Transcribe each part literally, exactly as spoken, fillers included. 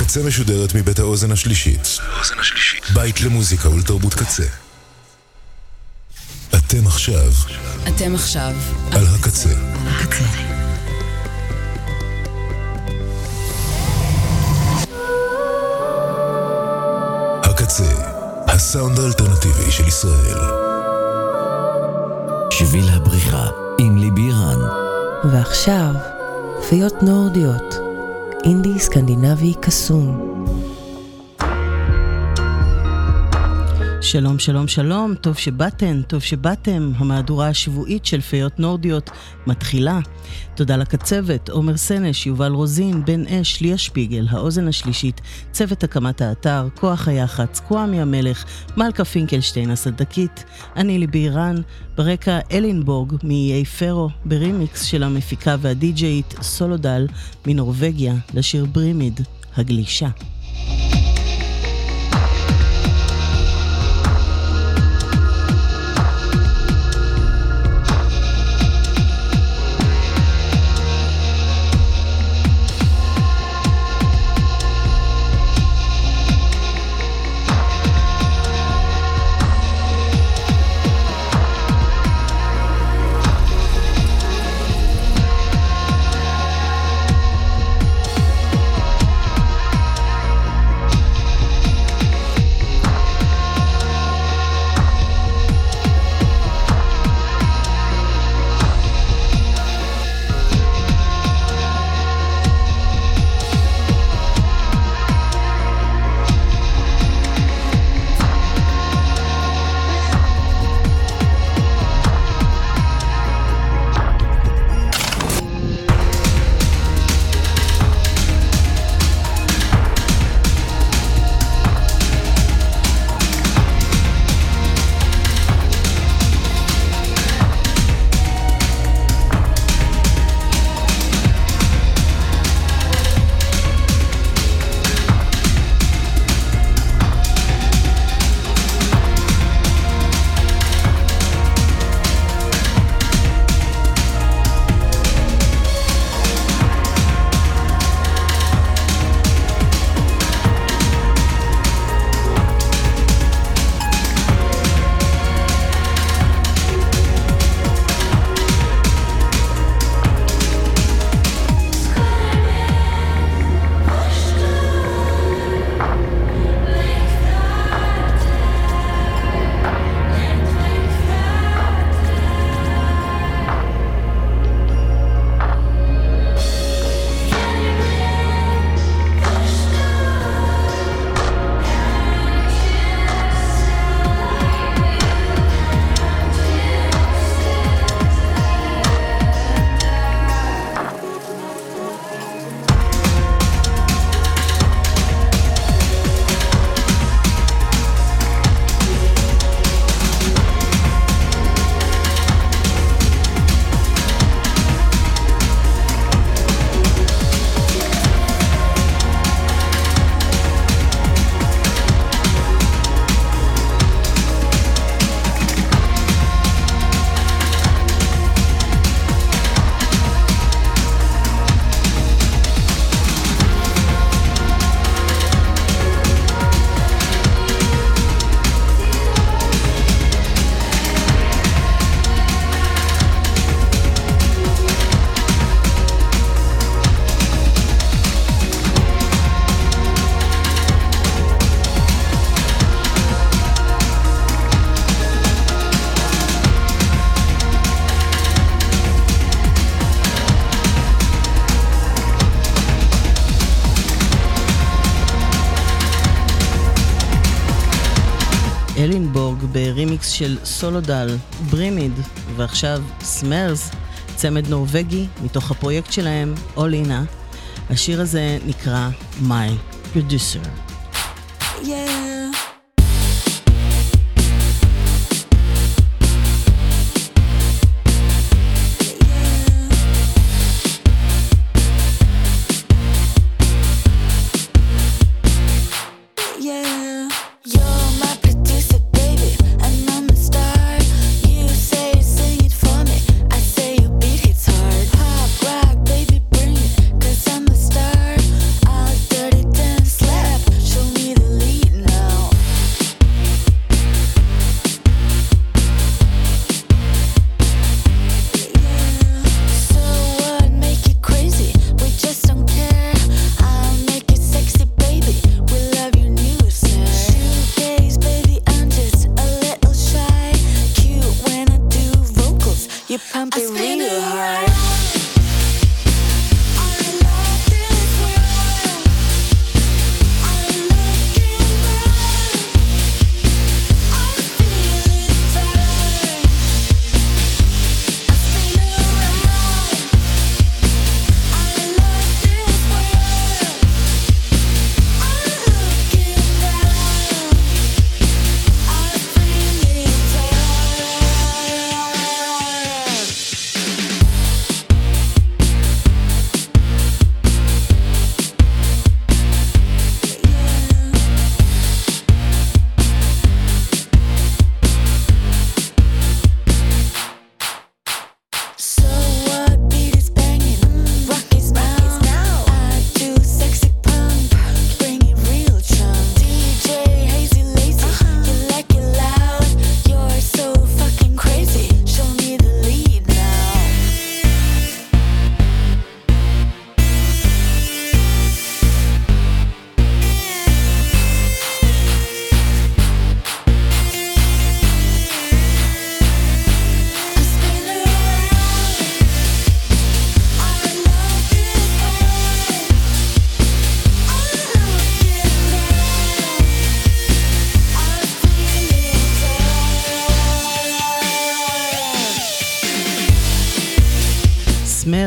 הקצה משודרת מבית האוזן השלישית. בית למוזיקה ולתרבות קצה. אתם עכשיו. אתם עכשיו. על הקצה. הקצה. הקצה, הסאונד האלטרנטיבי של ישראל. שביל הבריחה עם ליבי רן. ועכשיו, פיות נורדיות, אינדי סקנדינבי קסום. שלום, שלום, שלום, טוב שבאתם, טוב שבאתם. המהדורה השבועית של פיות נורדיות מתחילה. תודה לקצוות, עומר סנש, יובל רוזין, בן אש, ליה שפיגל, האוזן השלישית, צוות הקמת האתר, כוח היחץ, קוואמי המלך, מלכה פינקלשטיין הסדקית, אני ליבי רן, ברקע אלינבורג מאיי פרו, ברימיקס של המפיקה והדי-ג'יית סולודל מנורווגיה, לשיר ברימיד, הגלישה. אלינבורג ברימיקס של סולודל, ברימיד, ועכשיו סמרס, צמד נורווגי מתוך הפרויקט שלהם, אולינה. השיר הזה נקרא My Producer. Yeah. Dance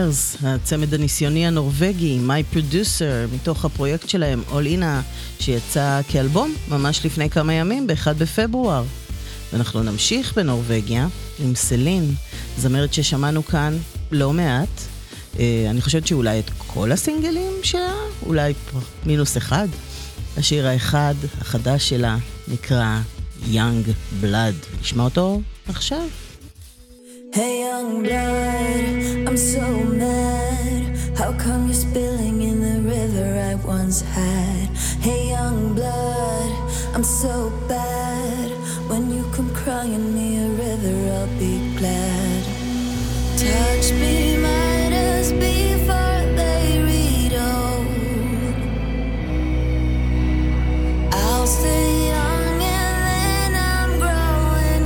Lumineers, הצמד הניסיוני הנורווגי, My Producer, מתוך הפרויקט שלהם, All Ina, שיצא כאלבום ממש לפני כמה ימים, ב-אחד בפברואר. ואנחנו נמשיך בנורווגיה עם סלין, זמרת ששמענו כאן לא מעט. אני חושבת שאולי את כל הסינגלים שלה, אולי מינוס אחד. השיר האחד, החדש שלה, נקרא Young Blood. נשמע אותו עכשיו. Hey young blood, I'm so mad. How come you're spilling in the river I once had? Hey young blood, I'm so bad. When you come crying me a river, I'll be glad. Touch me, might as before they read old. I'll stay young and then I'm growing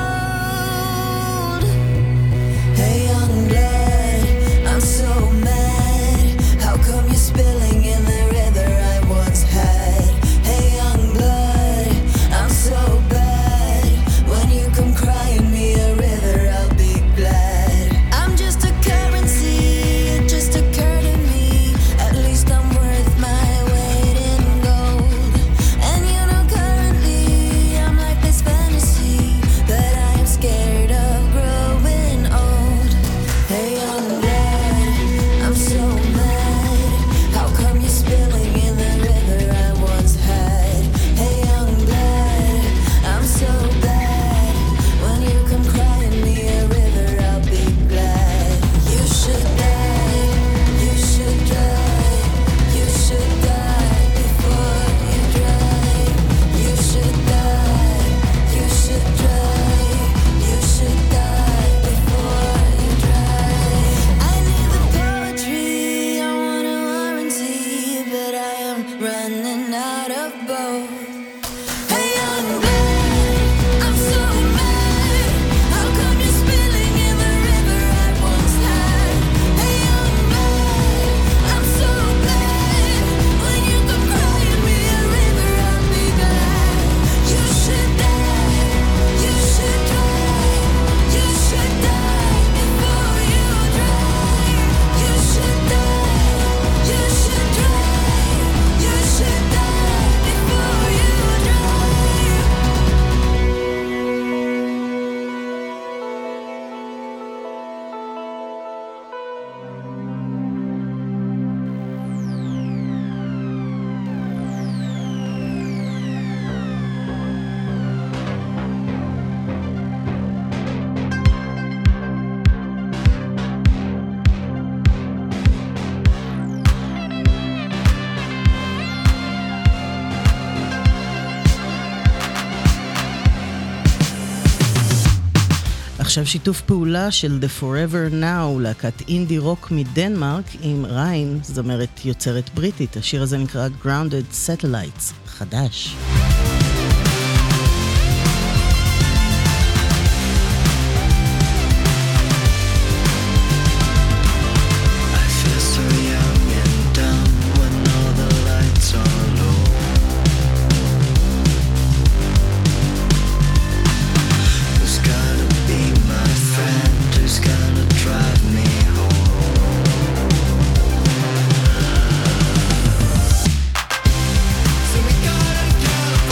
gold. Hey young blood, I'm so mad. How come you're spilling in the river I once had? Hey young blood, I'm so bad. When you come crying me a river, I'll be glad. I'm just a currency, it just occurred to me. At least I'm worth my weight in gold. And you know currently I'm like this fantasy, but I am scared of growing old. Hey young blood, I'm so mad. How come you're spilling in the river I once had? Hey young blood, I'm so bad. When you come crying me a river, I'll be glad. You should die, you should die, you should die before you dry. You should die, you should dry, you should die before you dry. I need the poetry, I want a warranty, but I am running out of both. Hey young blood, I'm so mad. How come you're spilling in the river I once had? Hey young blood, I'm so bad. When you come crying me a river, I'll be glad. You should die, you should try, you should die before you dry. You should die, you should try, you should die before you dry. עכשיו שיתוף פעולה של The Forever Now, להקת אינדי רוק מדנמרק עם ריין, זמרת יוצרת בריטית. השיר הזה נקרא Grounded Satellites, חדש. I feel so young and dumb when all the lights are low. Who's gonna be my friend? Who's gonna drive me home? So we gotta go.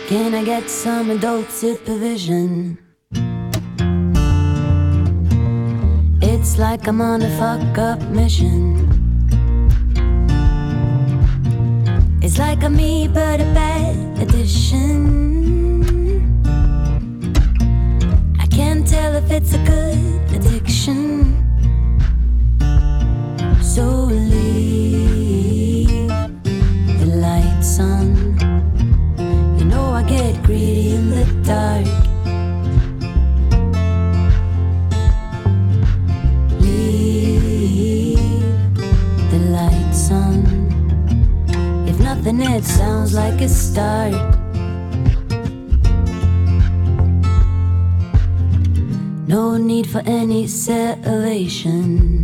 Can I get some adult supervision? It's like I'm on a fuck-up mission. It's like a me but a bad addition. I can't tell if it's a good addiction. So leave the lights on. You know I get greedy in the dark. Then it sounds like a start. No need for any salvation,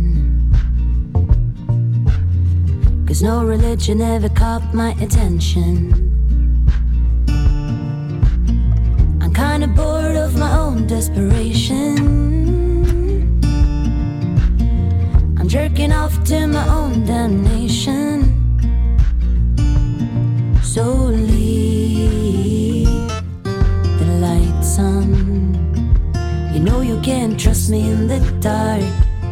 'cause no religion ever caught my attention. I'm kinda bored of my own desperation. I'm jerking off to my own damnation. So leave the lights on. You know you can't trust me in the dark.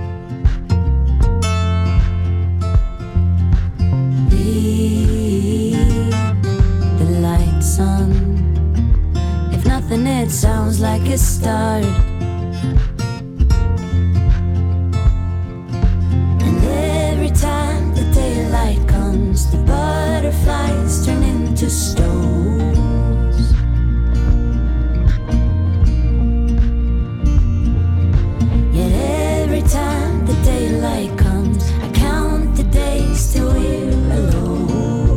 Leave the lights on. If nothing, it sounds like a start. And every time the daylight comes, the butterflies turn into stones. Yet every time the daylight comes, I count the days till we're alone.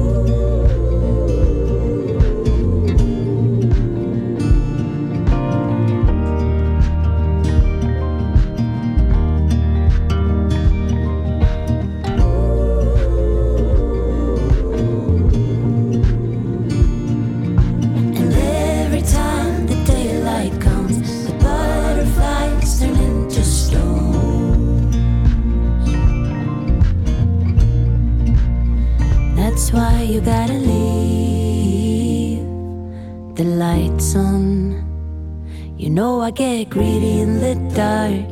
That's why you gotta leave the lights on. You know I get greedy in the dark.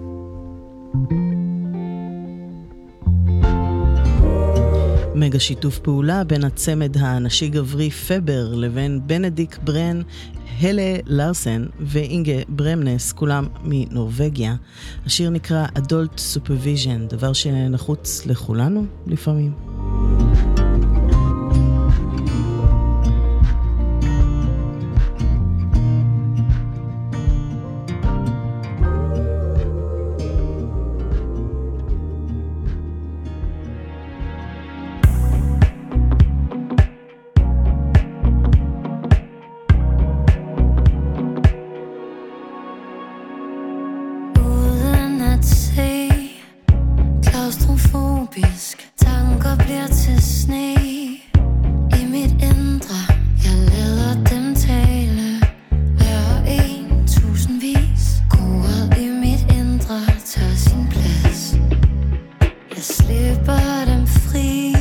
מגה שיתוף פעולה בין הצמד הנשי גברי פבר לבין בנדיק ברן, הלה לארסן ואינגה ברמנס, כולם מנורווגיה. השיר נקרא Adult Supervision, דבר שנחוץ לכולנו לפעמים. Tanker bliver til sne i mit indre. Jeg lader dem tale hver en tusindvis. Koret i mit indre tager sin plads. Jeg slipper dem fri.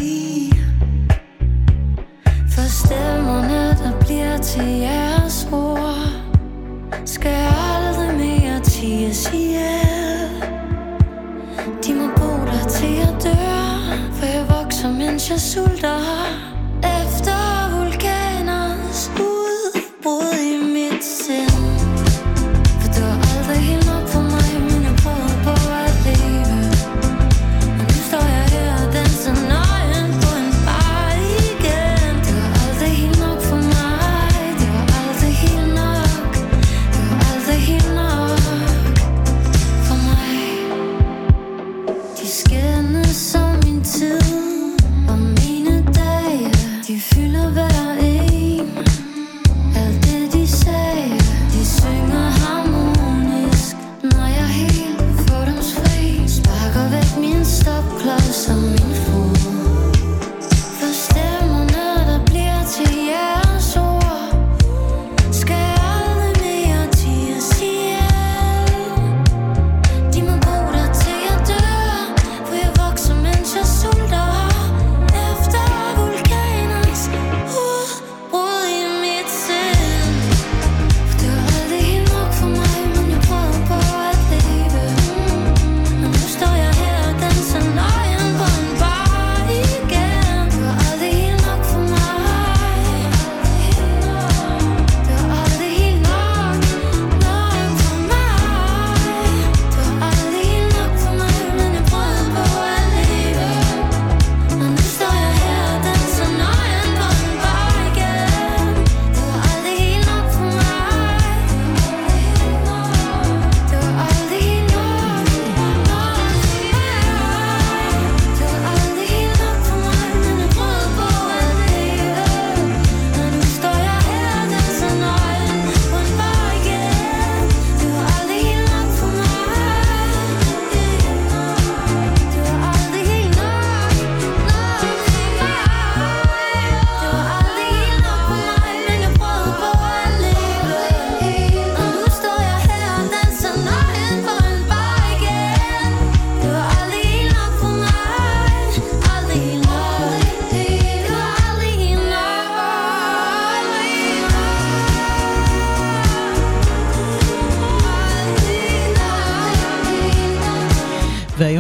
For stemmerne der bliver til jeres ord skal aldrig mere ties ihjel. De må bo der til jeg dør, for jeg vokser, mens jeg sulter. Efter vulkaners udbrud i mit sind. For det var aldrig helt nok for mig, men jeg prøvede på at leve. Og nu står jeg her og danser nøgen på en bar igen. Det var aldrig helt nok for mig. Det var aldrig helt nok. Det var aldrig helt nok for mig. De skændes som min tid og mine dage. De fylder hver en. Alt det de sagde. De synger harmonisk, når jeg er helt fordomsfri. Sparker væk min stopklods og min fod. For stemmerne der bliver til jeres ord skal aldrig mere ties ihjel. De må bo der til jeg dør, for jeg vokser, mens jeg sulter. Efter vulkaners udbrud.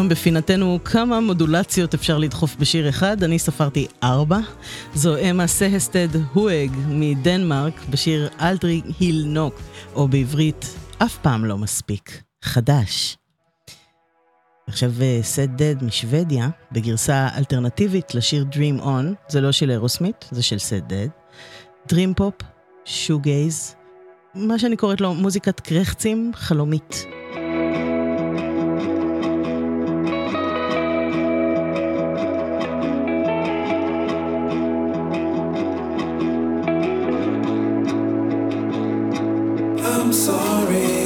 והפעם בפינתנו כמה מודולציות אפשר לדחוף בשיר אחד, אני ספרתי ארבע. זו אמה סהסטד הואג מדנמרק בשיר אלדרי היל נוק, או בעברית אף פעם לא מספיק, חדש. עכשיו סד דד משוודיה, בגרסה אלטרנטיבית לשיר Dream On, זה לא של אירוסמית, זה של סד דד. Dream Pop, Shoegaze, מה שאני קוראת לו מוזיקת קרחצים חלומית. I'm sorry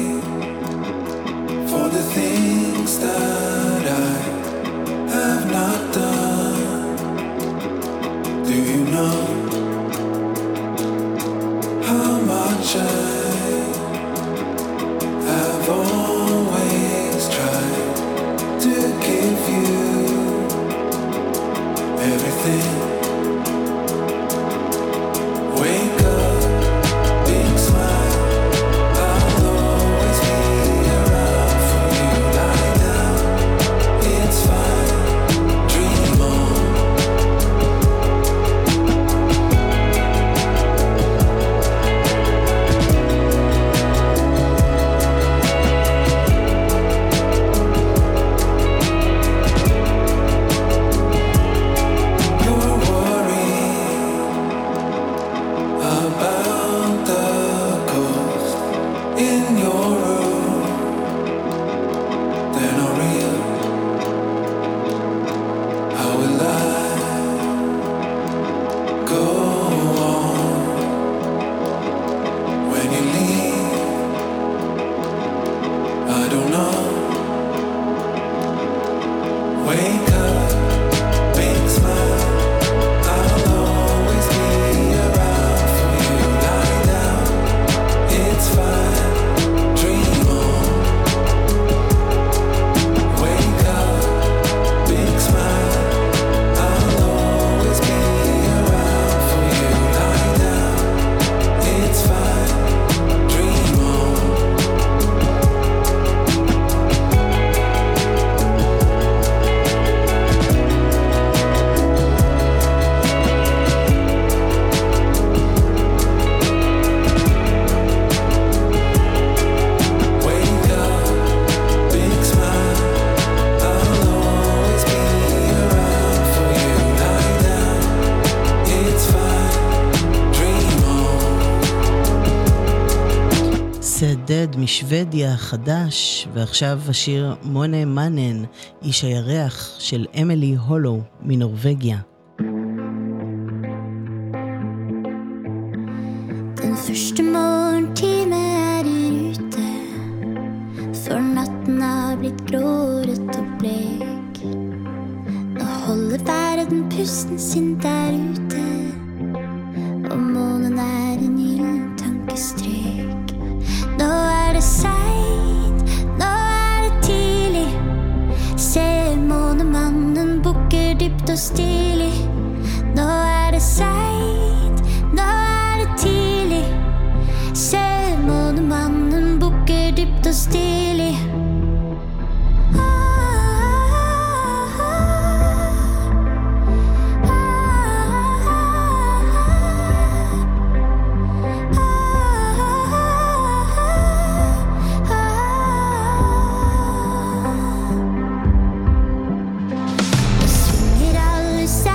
for the things that I have not done. Do you know how much I have always tried to give you everything? Wake up, big smile. I'll always be around for you. Lie down, it's fine. Dream on. You're worried about the ghost in your room. They're not real. How will I go on when you leave? I don't know. Wake up, big smile. I'll always be around for you. Lie down, it's fine. Dream on. Wake up, big smile. I'll always be around for you. Lie down, it's fine. Dream on. Wake up, big smile. I'll always be around for you. Lie down, it's fine. Dream on. סד דד משוודיה חדש, ועכשיו השיר מונה מנן, איש הירח של אמילי הולו מנורווגיה. Den første morgentime er i rute, for natten har blitt gråret og blek. Nå holder verden pusten sin der ute, og månen er en gyllen tankestrek. Nå er det sent, nå er det tidlig, ser månemannen bukker dypt og stilig. Nå er det sent, nå er det tidlig, ser månemannen bukker dypt og stilig. Nå svinger alle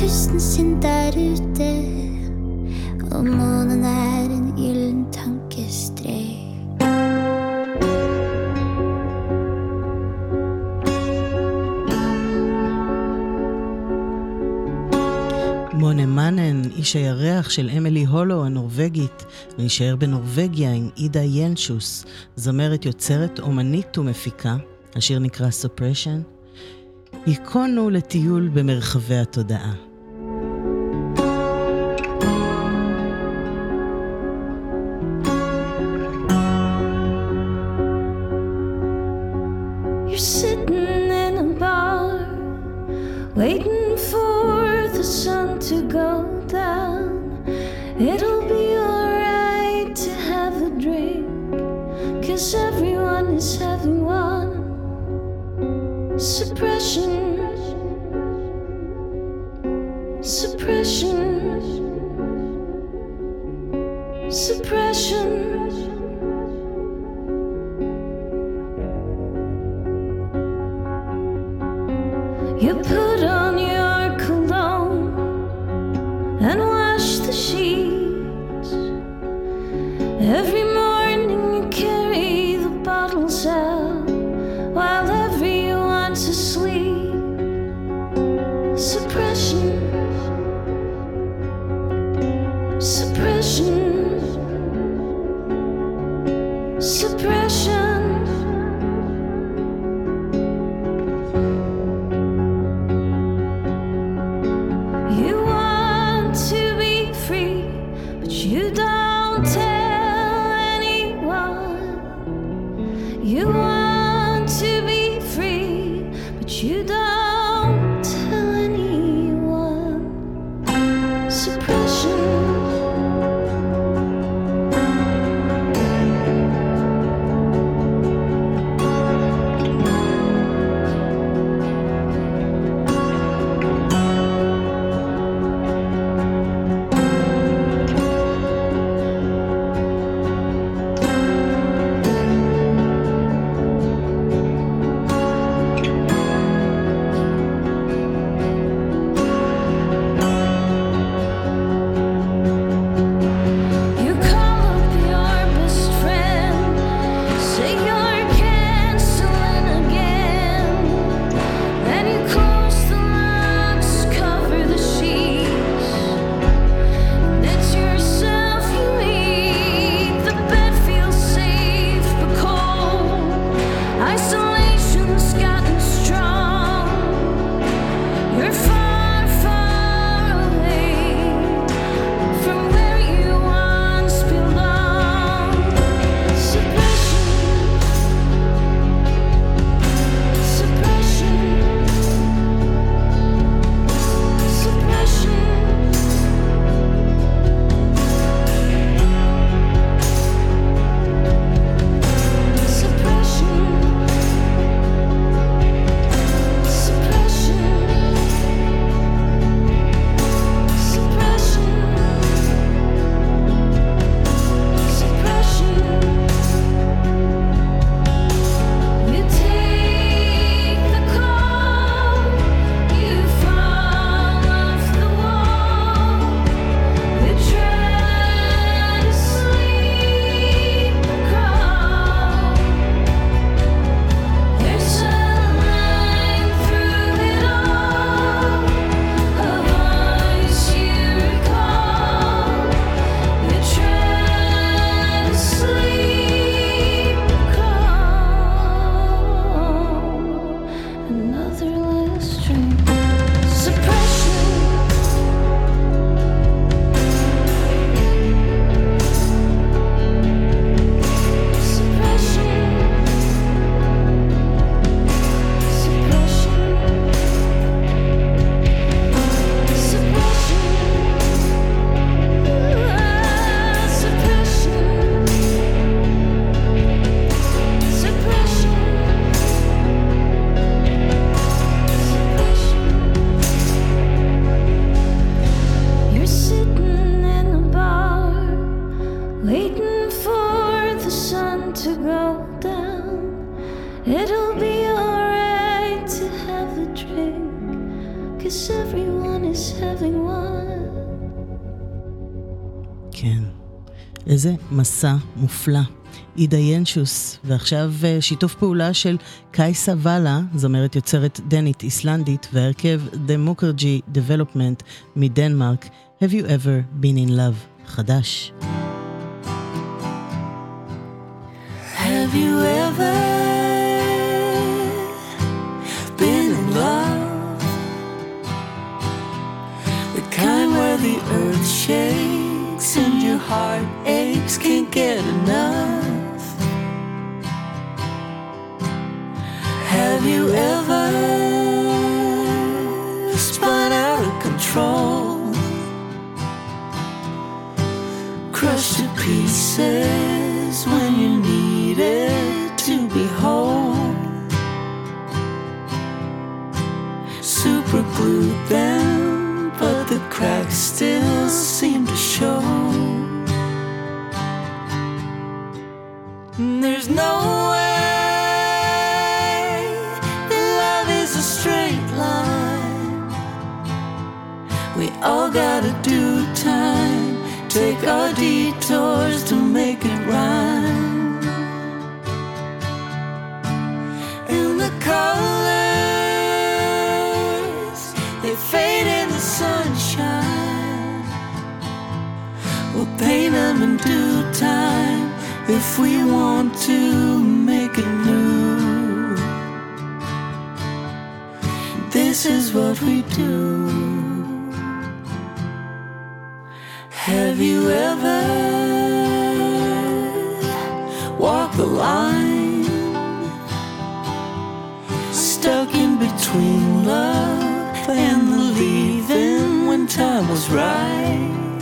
pusten sin der ute, og månen er en gyllen tankestrek. מונה מאנן, איש הירח של אמילי הולו הנורווגית, ונשאר בנורווגיה עם אידה ינשוס, זמרת יוצרת, אומנית ומפיקה. השיר נקרא Suppression. ייכונו לטיול במרחבי התודעה. You're sitting in a bar, waiting for the sun to go down. It'll be alright to have a drink, 'cause everyone is having one. Suppression, suppression, suppression. You put on your cologne and wash the sheets. Every morning you carry the bottles out while everyone's asleep. Suppression, suppression, suppression. You want to be free, but you don't tell anyone. You want to be free, but you don't tell anyone. Suppression, you call up your best friend, say you're canceling again. Then you close the locks, cover the sheets, and it's yourself you meet. The bed feels safe but cold. Isolation's gotten strong. You're far, far away from where you once belonged. Suppression, suppression, suppression. Suppression, suppression, suppression, suppression. You take the call, you fall off the wall, you try to sleep and crawl. There's a line through it all, a voice you recall. You try to sleep and crawl. Another last drink. Suppression, suppression, suppression, suppression, ah, suppression, suppression, suppression. You're sitting in a bar, waiting for the sun to go down. It'll be alright to have a drink, 'cause everyone miss having one. כן, איזה מסע מופלא. אידה ינשוס, ועכשיו שיתוף פעולה של קייסה ואלה, זמרת יוצרת דנית איסלנדית, והרכב דמוקרג'י דבלופמנט מדנמרק, Have you ever been in love? חדש. Have you ever been in love? The kind where the earth shakes and your heart aches, can't get enough. Have you ever spun out of control, crushed to pieces when you needed to be whole, super glued them, but the cracks still seem to show. There's no way that love is a straight line. We all gotta do time, take our detours to make it rhyme. And the colors, they fade in the sunshine. We'll paint them in due time if we want to make it new. This is what we do. Have you ever walked the line, stuck in between love and the leaving when time was right,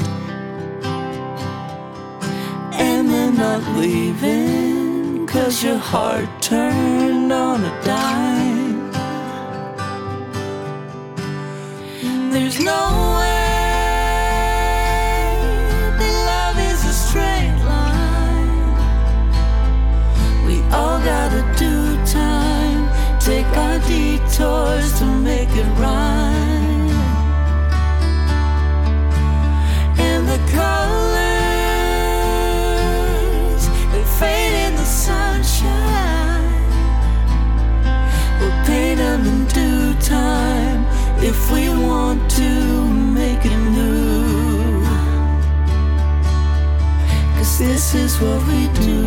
and then not leaving 'cause your heart turned on a dime? There's no way all gotta do time, take our detours to make it rhyme. And the colors, they fade in the sunshine. We'll paint them in due time if we want to make it new. 'Cause this is what we do.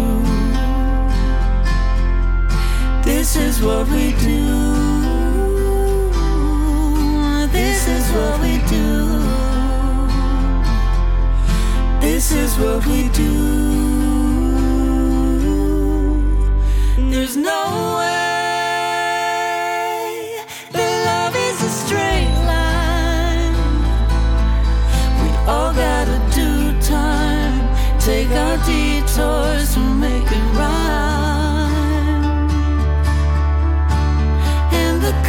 This is what we do. This is what we do. This is what we do. There's no way that love is a straight line. We all gotta do time, take our detours to make it right. The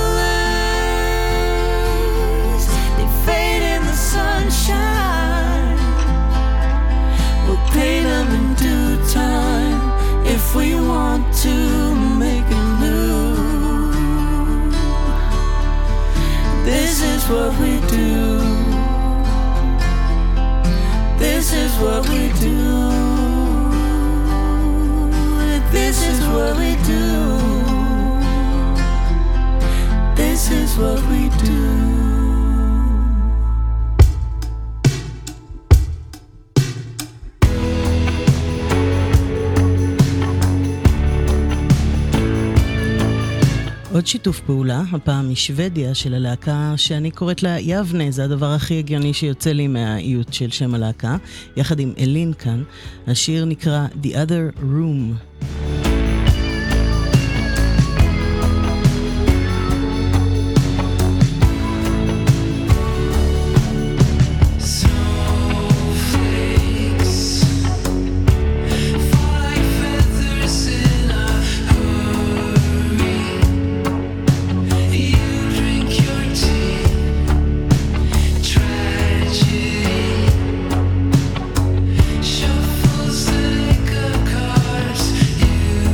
colors, they fade in the sunshine. We'll paint them in due time if we want to make it new. This is what we do. This is what we do. This is what we do. This is what we do. עוד שיתוף פעולה, הפעם משוודיה של הלהקה שאני קוראת לה יבנה, זה הדבר הכי הגיוני שיוצא לי מהאיות של שם הלהקה, יחד עם אלין כאן. השיר נקרא The Other Room. Shuffles like a cards. You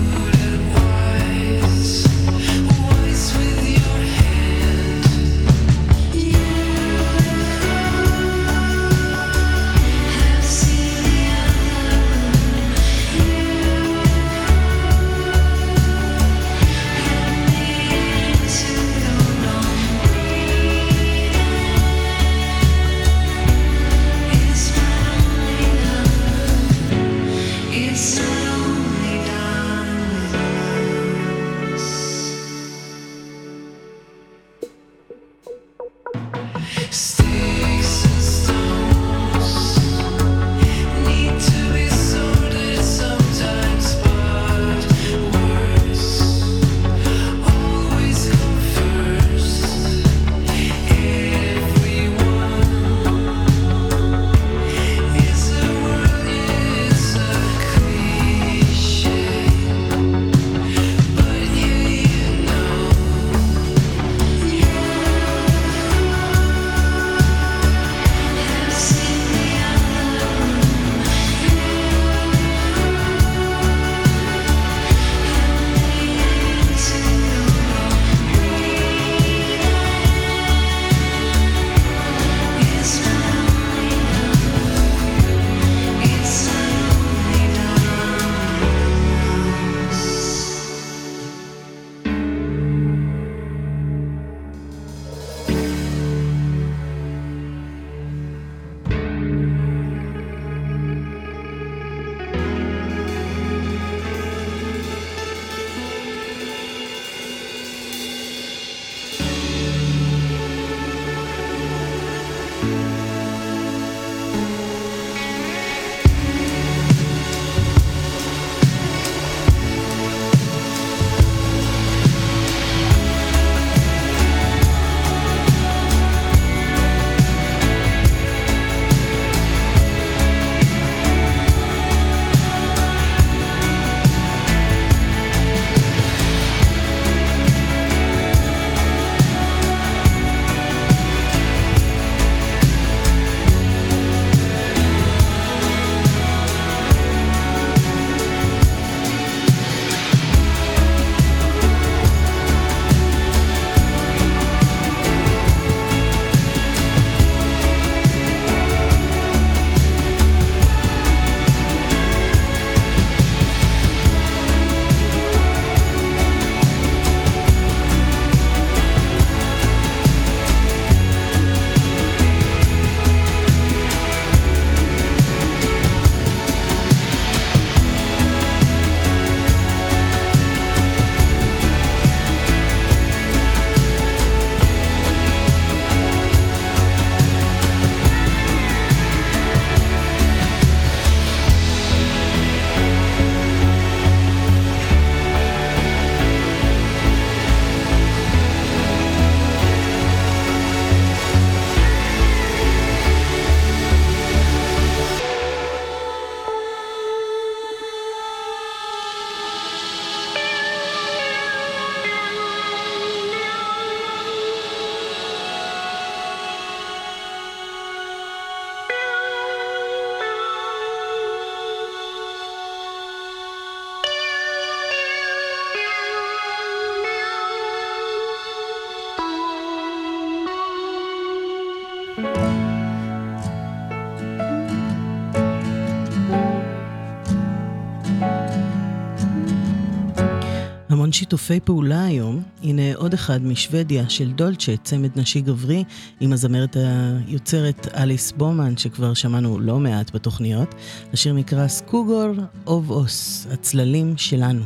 המון שיתופי פעולה היום. הנה עוד אחד משוודיה של דולצ'ה, צמד נשי גברי, עם הזמרת היוצרת אליס בומן, שכבר שמענו לא מעט בתוכניות. השיר נקרא סקוגור אוב אוס, הצללים שלנו.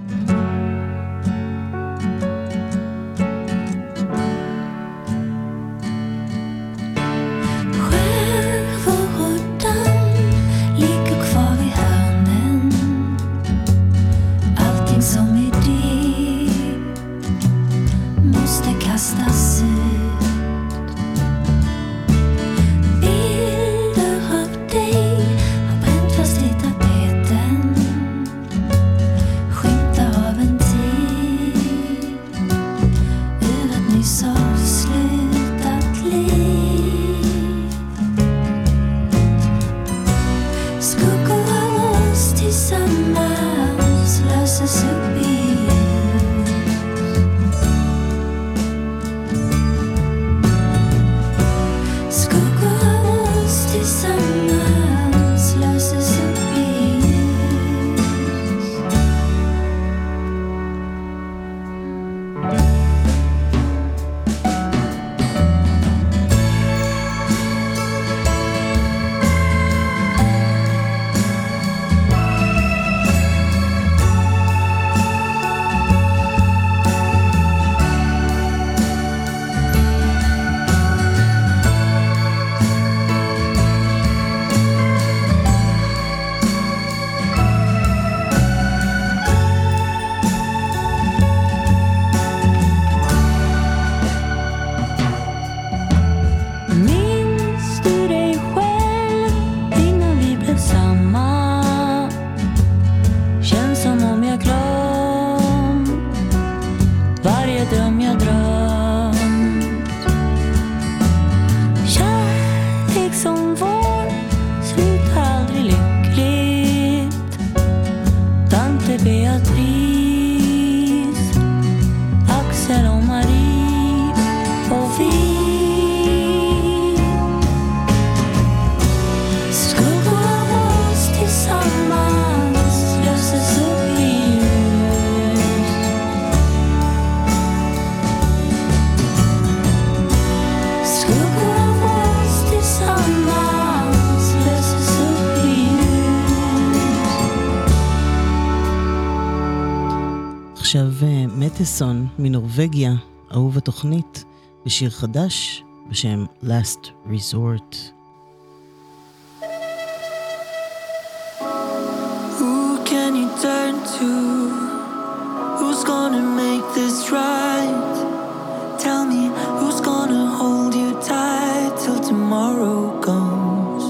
עכשיו מטסון מנורווגיה, אהוב התוכנית, בשיר חדש בשם Last Resort. Who can you turn to? Who's gonna make this right? Tell me, who's gonna hold you tight till tomorrow comes?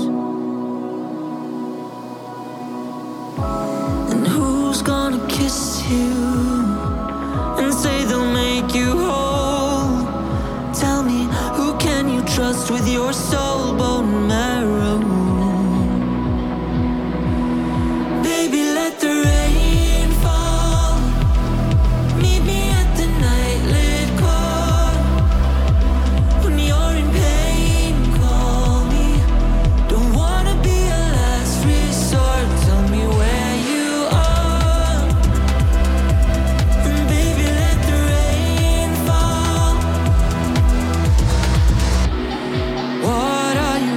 And who's gonna kiss you and say they'll make you whole? Tell me, who can you trust with your soul, bone marrow? Baby, let the rain fall. Meet me at the nightlit car. When you're in pain, call me. Don't wanna be a last resort. Tell me where you are. And baby, let the rain fall. What are you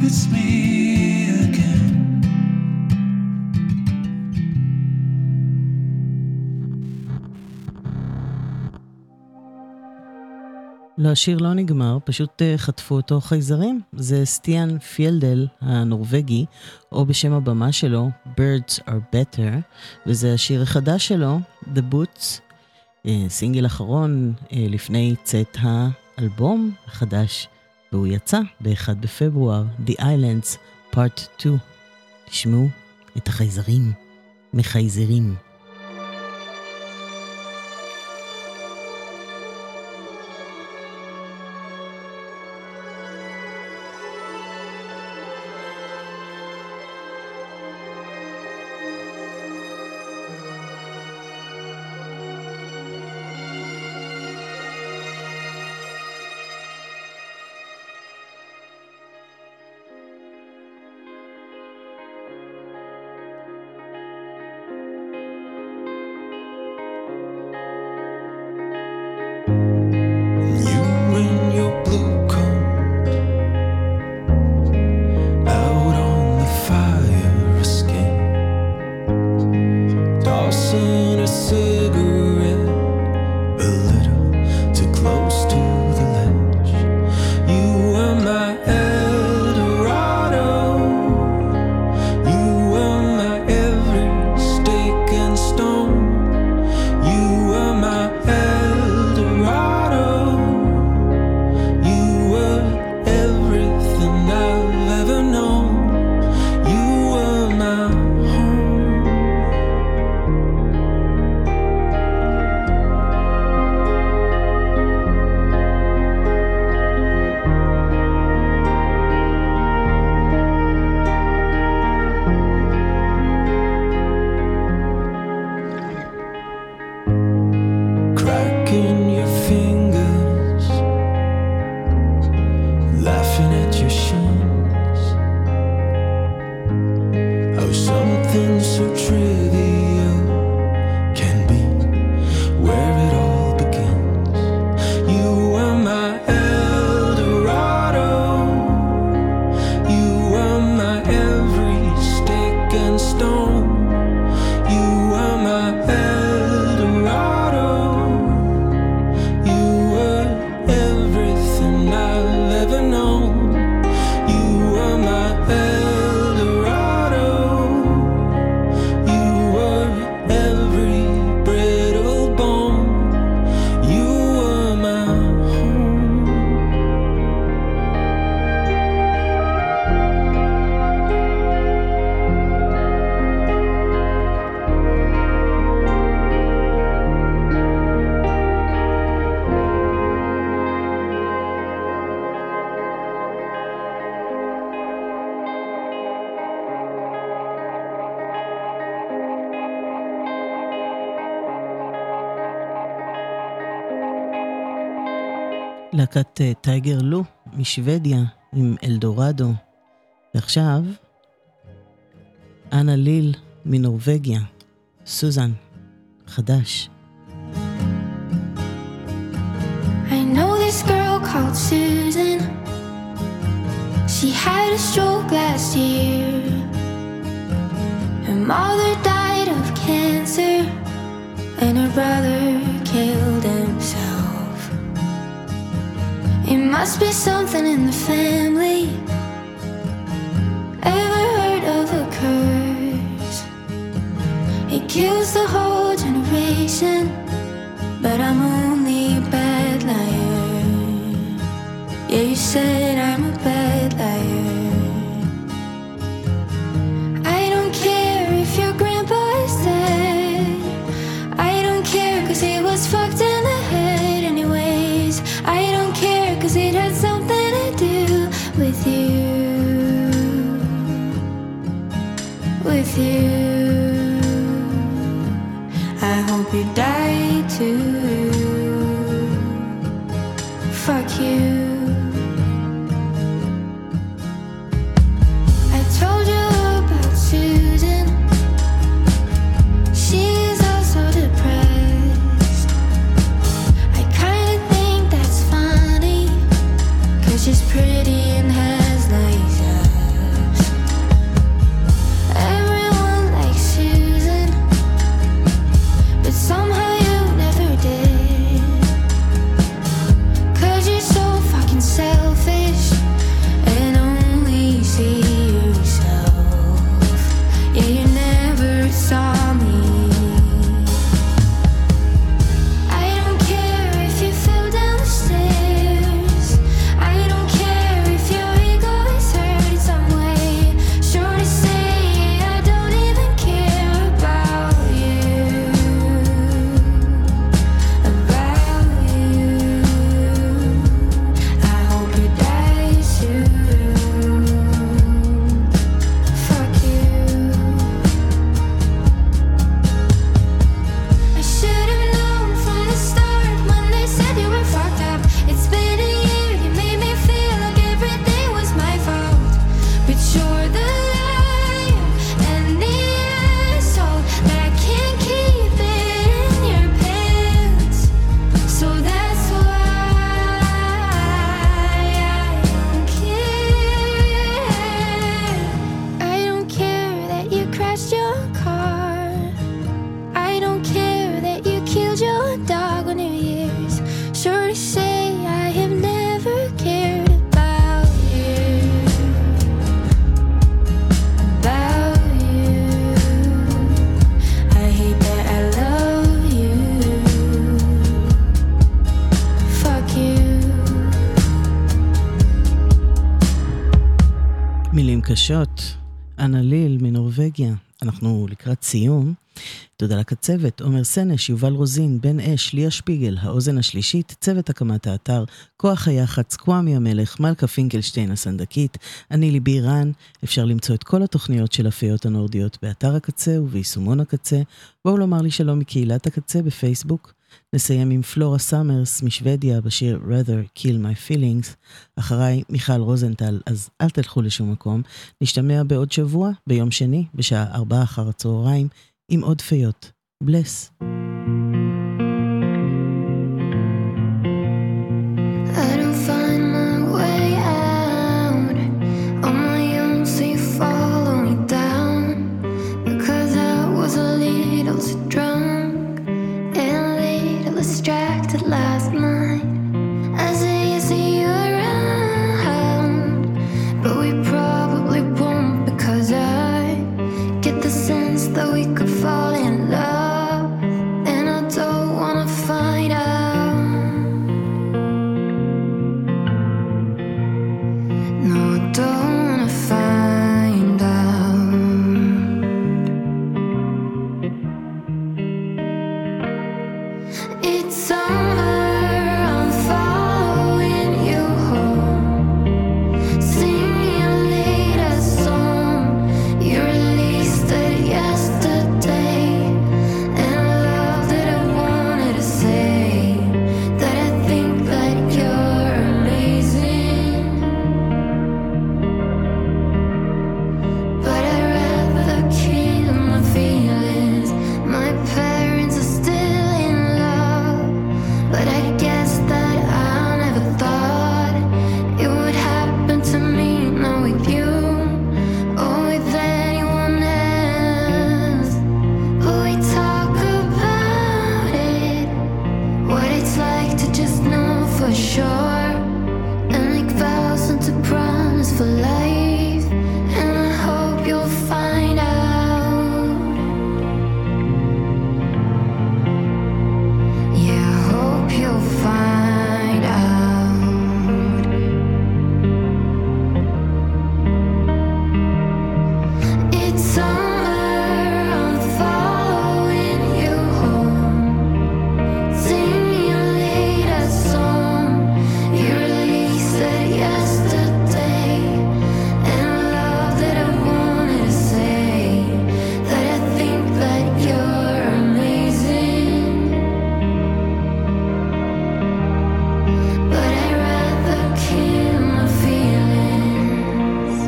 it's me again. לא, השיר לא נגמר, פשוט uh, חטפו אותו חייזרים. זה סטיאן פיילדל הנורווגי, או בשם הבמה שלו, Birds are Better, וזה השיר החדש שלו, The Boots, uh, סינגל אחרון uh, לפני צאת האלבום החדש, והוא יצא ב-אחד בפברואר, The Islands Part שתיים. תשמעו את החייזרים, מחייזרים. להקת טייגר לו משוודיה עם אלדורדו. ועכשיו אנה ליל מנורווגיה, סוזן, חדש. I know this girl called Susan. She had a stroke last year. Her mother died of cancer, and her brother killed himself. It must be something in the family. Ever heard of a curse? It kills the whole generation, but I'm only a bad liar. Yeah, you said I'm a bad liar. I don't care if your grandpa is dead. I don't care cause he was fucked in the head anyways. I don't care cause it had something to do with you. With you. I hope you die too. Fuck you. I told you about Susan. She's also depressed. I kinda think that's funny, cause she's pretty and has nice eyes. But you're the life and the asshole that can't keep it in your pants. So that's why I don't care. I don't care that you crashed your car. I don't care that you killed your dog on New Year's. Sure to say I have never cared about you, about you. I hate that I love you. Fuck you. מילים קשות, אנה ליל מנורווגיה. אנחנו לקראת סיום. תודה לקצוות, עומר סנש, יובל רוזין, בן אש, ליה שפיגל, האוזן השלישית, צוות הקמת האתר, כוח היח"צ, קוואמי המלך, מלכה פינקלשטיין הסנדקית, אני ליבי רן. אפשר למצוא את כל התוכניות של הפיות הנורדיות באתר הקצה וביישומון הקצה. בואו לומר לי שלום מקהילת הקצה בפייסבוק. נסיים עם פלורה סאמרס משוודיה בשיר Rather Kill My Feelings. אחריי מיכל רוזנטל, אז אל תלכו לשום מקום. נשתמע בעוד שבוע, ביום שני, בשעה ארבע אחר הצהריים, עם עוד פיות. בלס. I don't find my way out on my own, so you follow me down. Because I was a little too drunk and a little distracted last night. I say I see you around, but we probably won't, because I get the sense that we could fall in love, and I don't wanna find out. No, I don't wanna find out. It's summer, I'm following you home, singing your latest song. You released it yesterday, and I loved it. I wanted to say that I think that you're amazing, but I'd rather kill my feelings. My parents are still in love, but I guess that I never thought it would happen to me, not with you or with anyone else. But we talk about it, what it's like to just know for sure, and make vows and to promise for life. And I hope you'll find out. Yeah, I hope you'll find out. It's summer, I'm following you home, singing your latest song. You released it yesterday, and I loved it. I wanted to say that I think that you're amazing, but I'd rather kill my feelings.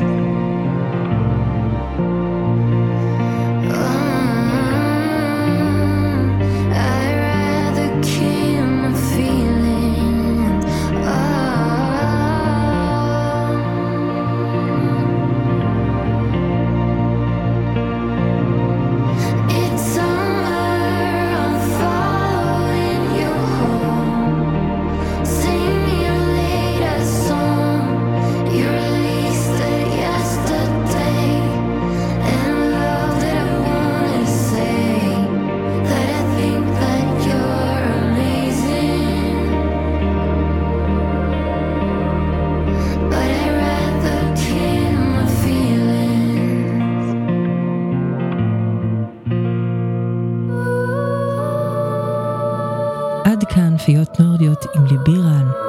I'd rather kill my feelings. It's summer, I'm following you home, singing your latest song. You released it yesterday, and I loved it. I wanted to say that I think that you're amazing, but I'd rather kill my feelings. עד כאן פיות נורדיות עם ליבי רן.